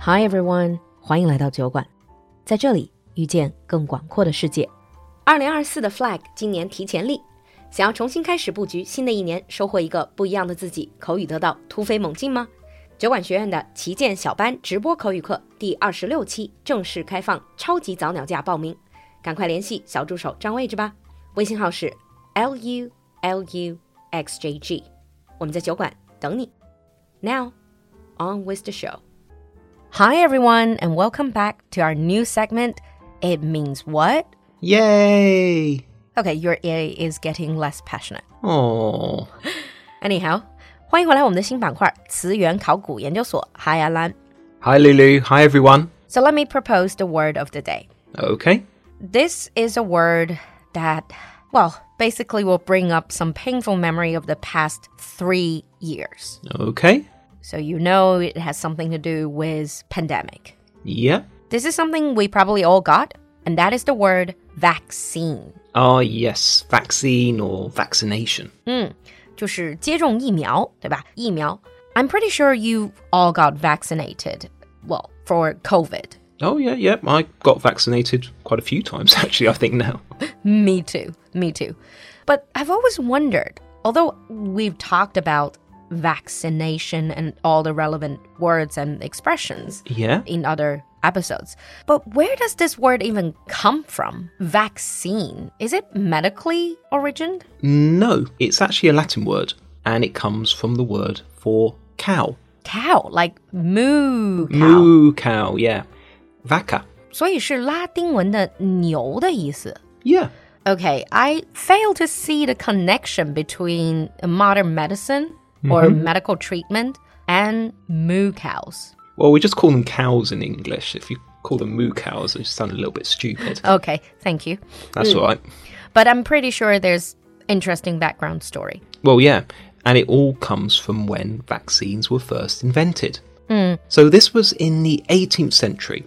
Hi everyone， 欢迎来到酒馆，在这里遇见更广阔的世界。2024的 flag 今年提前立，想要重新开始布局新的一年，收获一个不一样的自己，口语得到突飞猛进吗？酒馆学院的旗舰小班直播口语课第26期正式开放超级早鸟价报名，赶快联系小助手占位置吧，微信号是 LULUXJG， 我们在酒馆等你。Now, on with the show.Hi everyone, and welcome back to our new segment, It Means What? Yay! Okay, your A is getting less passionate. Oh. Anyhow, 欢迎回来我们的新板块词源考古研究所。Hi Alan. Hi Lulu. Hi everyone. So let me propose the word of the day. Okay. This is a word that, well, basically will bring up some painful memory of the past 3 years. Okay.So you know it has something to do with pandemic. Yeah. This is something we probably all got, and that is the word vaccine. Oh, yes. Vaccine or vaccination. 就是接种疫苗，对吧？疫苗。I'm pretty sure you all got vaccinated, well, for COVID. Oh, yeah. I got vaccinated quite a few times, actually, I think now. Me too. But I've always wondered, although we've talked about vaccination and all the relevant words and expressions in other episodes. But where does this word even come from? Vaccine. Is it medically origined? No, it's actually a Latin word, and it comes from the word for cow. Cow, like moo cow. Moo cow, yeah. Vaca. 所以是拉丁文的牛的意思。 Yeah. Okay, I fail to see the connection between modern medicine...or medical treatment, and moo cows. Well, we just call them cows in English. If you call them moo cows, it sounds a little bit stupid. Okay, thank you. That's all right. But I'm pretty sure there's interesting background story. Well, yeah, and it all comes from when vaccines were first invented. So this was in the 18th century,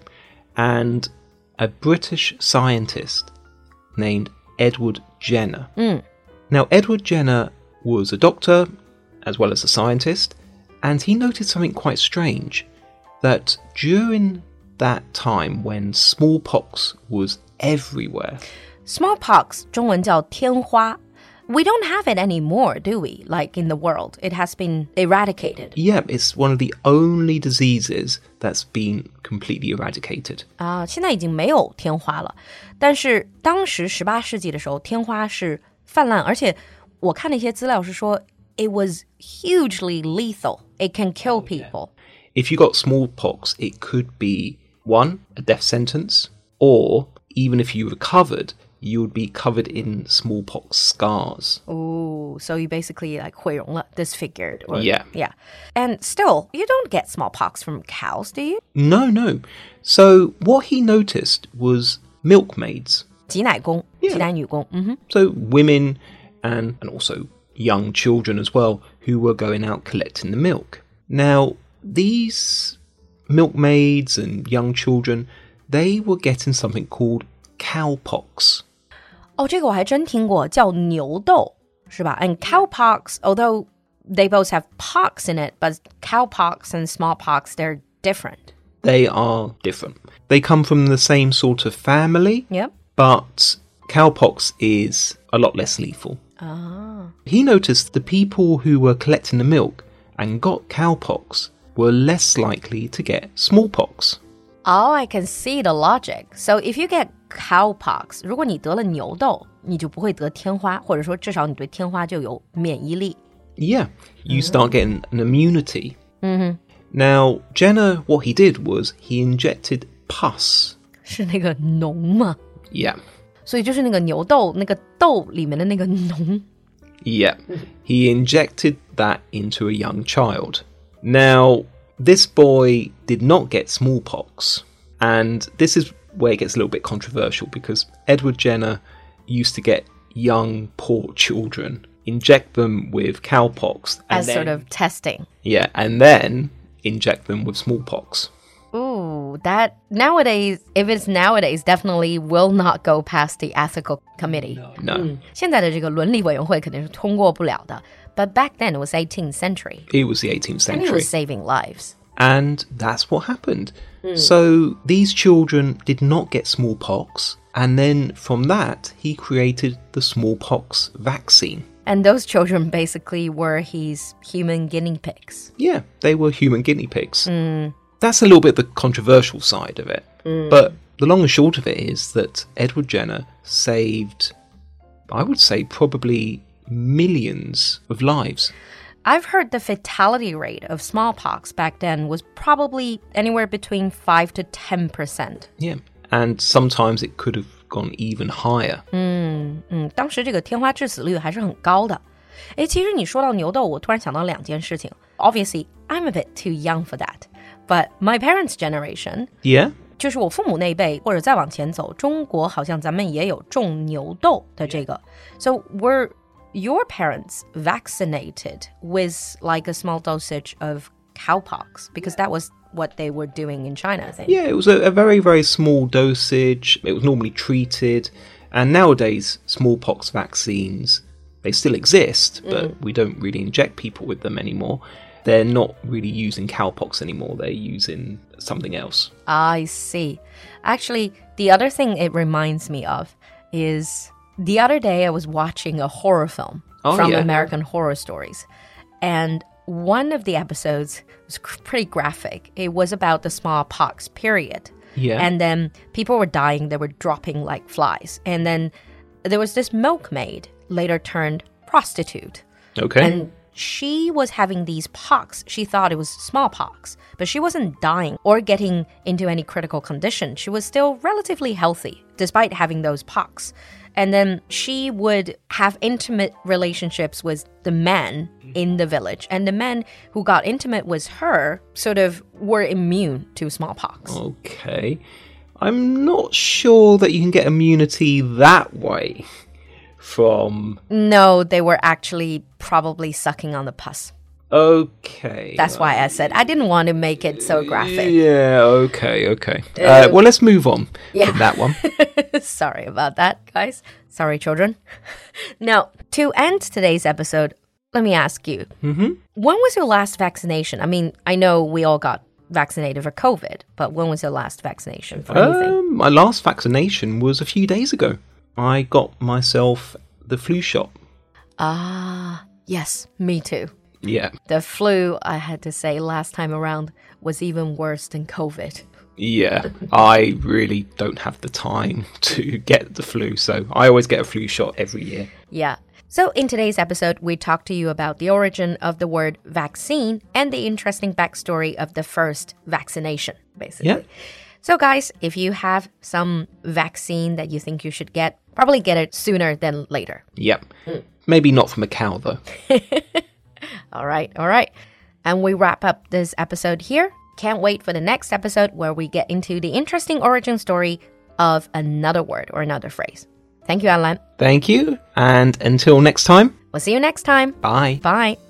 and a British scientist named Edward Jenner. Now, Edward Jenner was a doctor...as well as a scientist, and he noted something quite strange, that during that time when smallpox was everywhere... Smallpox, 中文叫天花. We don't have it anymore, do we? Like in the world. It has been eradicated. Yeah, it's one of the only diseases that's been completely eradicated. 现在已经没有天花了，但是当时18世纪的时候，天花是泛滥，而且我看了一些资料是说It was hugely lethal. It can kill people. If you got smallpox, it could be, 1, a death sentence, or even if you recovered, you would be covered in smallpox scars. Oh, so you basically like 毁容了, disfigured. Or, Yeah. And still, you don't get smallpox from cows, do you? No. So what he noticed was milkmaids. 挤奶工, Yeah. 挤奶女工. So women and also young children as well who were going out collecting the milk. Now, these milkmaids and young children, they were getting something called cowpox. 这个我还真听过，叫牛痘，是吧? And cowpox, although they both have pox in it, but cowpox and smallpox, they're different. They are different. They come from the same sort of family, Yep. but cowpox is a lot less lethal. He noticed the people who were collecting the milk and got cowpox were less likely to get smallpox. Oh, I can see the logic. So if you get cowpox, 如果你得了牛痘，你就不会得天花，或者说至少你对天花就有免疫力。 Yeah, you start getting an immunity. Now, Jenner, what he did was he injected pus. 是那个脓吗？ Yeah. 所以就是那个牛痘，那个痘里面的那个脓。 Yeah. He injected that into a young child. Now, this boy did not get smallpox. And this is where it gets a little bit controversial because Edward Jenner used to get young, poor children, inject them with cowpox. As sort of testing. Yeah, and then inject them with smallpox. Ooh, that nowadays, if it's nowadays, definitely will not go past the ethical committee. No. 现在的这个伦理委员会肯定是通过不了的。But back then it was 18th century. It was the 18th And it century. was saving lives. And that's what happened. So these children did not get smallpox. And then from that, he created the smallpox vaccine. And those children basically were his human guinea pigs. Yeah, they were human guinea pigs. That's a little bit the controversial side of it. But the long and short of it is that Edward Jenner saved, I would say, probably millions of lives. I've heard the fatality rate of smallpox back then was probably anywhere between 5 to 10%. Yeah, and sometimes it could have gone even higher. 当时这个天花致死率还是很高的。其实你说到牛痘，我突然想到2件事情。Obviously, I'm a bit too young for that. But my parents' generation, Yeah? 就是我父母那一辈或者再往前走，中国好像咱们也有种牛痘的这个。So were your parents vaccinated with like a small dosage of cowpox? Because that was what they were doing in China, I think. Yeah, it was a very, very small dosage. It was normally treated. And nowadays, smallpox vaccines, they still exist, but we don't really inject people with them anymore. They're not really using cowpox anymore. They're using something else. I see. Actually, the other thing it reminds me of is the other day I was watching a horror film from American Horror Stories. And one of the episodes was pretty graphic. It was about the smallpox period. Yeah. And then people were dying. They were dropping like flies. And then there was this milkmaid, later turned prostitute. Okay. And she was having these pox. She thought it was smallpox, but she wasn't dying or getting into any critical condition. She was still relatively healthy, despite having those pox. And then she would have intimate relationships with the men in the village. And the men who got intimate with her sort of were immune to smallpox. Okay. I'm not sure that you can get immunity that way from... No, they were actually probably sucking on the pus. Okay. That's why I said I didn't want to make it so graphic. Yeah, okay. Well, let's move on from that one. Sorry about that, guys. Sorry, children. Now, to end today's episode, let me ask you. When was your last vaccination? I mean, I know we all got vaccinated for COVID, but when was your last vaccination for anything? My last vaccination was a few days ago. I got myself the flu shot. Ah, yes, me too. Yeah. The flu, I had to say, last time around was even worse than COVID. Yeah, I really don't have the time to get the flu, so I always get a flu shot every year. Yeah. So in today's episode, we talked to you about the origin of the word vaccine and the interesting backstory of the first vaccination, basically. Yeah. So guys, if you have some vaccine that you think you should get, probably get it sooner than later. Yep. Maybe not from a cow, though. All right. And we wrap up this episode here. Can't wait for the next episode where we get into the interesting origin story of another word or another phrase. Thank you, Alan. Thank you, and until next time. We'll see you next time. Bye. Bye.